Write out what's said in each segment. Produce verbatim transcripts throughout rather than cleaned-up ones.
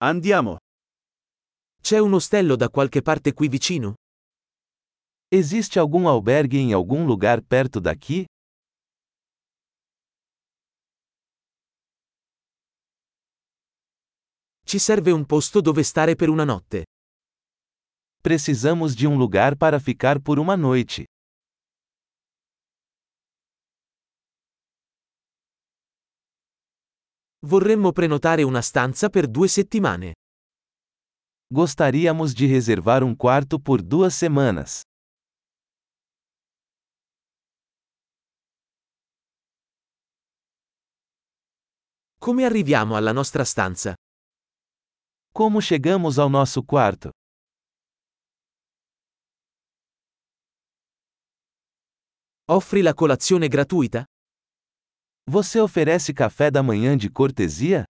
Andiamo. C'è un ostello da qualche parte qui vicino? Existe algum albergue em algum lugar perto daqui? Ci serve un posto dove stare per una notte. Precisamos de um lugar para ficar por uma noite. Vorremmo prenotare una stanza per due settimane. Gostaríamos de reservar um quarto por duas semanas. Come arriviamo alla nostra stanza? Como chegamos ao nosso quarto? Offri la colazione gratuita? Você oferece café da manhã de cortesia?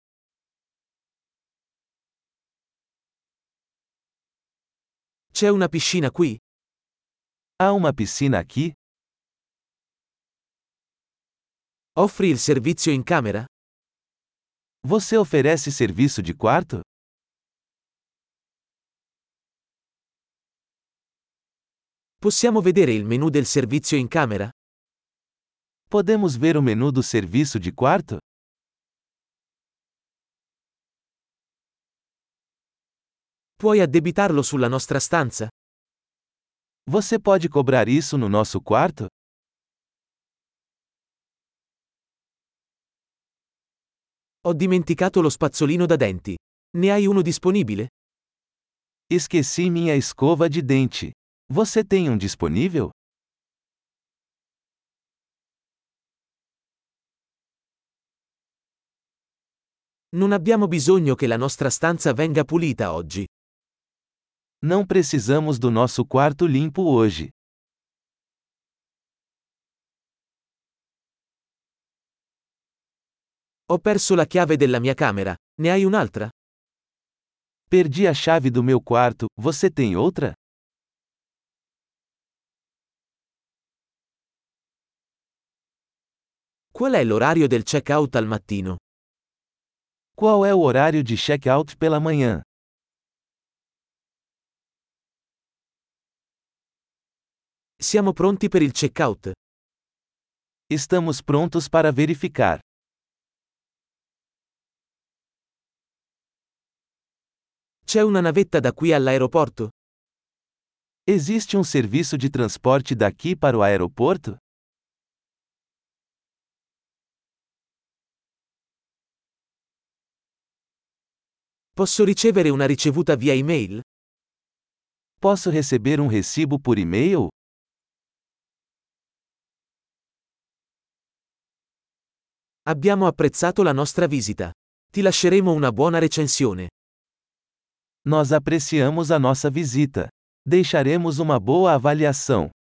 C'è una piscina qui? Há uma piscina aqui? Offri il servizio in camera? Você oferece serviço de quarto? Possiamo vedere il menu del servizio in camera? Podemos ver o menu do serviço de quarto? Puoi addebitarlo sulla nostra stanza? Você pode cobrar isso no nosso quarto? Ho dimenticato lo spazzolino da denti. Ne hai uno disponibile? Esqueci minha escova de dente. Você tem um disponível? Non abbiamo bisogno che la nostra stanza venga pulita oggi. Não precisamos do nosso quarto limpo hoje. Ho perso la chiave della mia camera. Ne hai un'altra? Perdi a chave do meu quarto, você tem outra? Qual è l'orario del check-out al mattino? Qual é o horário de check-out pela manhã? Siamo pronti per il check-out. Estamos prontos para verificar. C'è una navetta da qui all'aeroporto? Existe um serviço de transporte daqui para o aeroporto? Posso ricevere una ricevuta via email? Posso receber um recibo por e-mail? Abbiamo apprezzato la nostra visita. Ti lasceremo una buona recensione. Nós apreciamos a nossa visita. Deixaremos uma boa avaliação.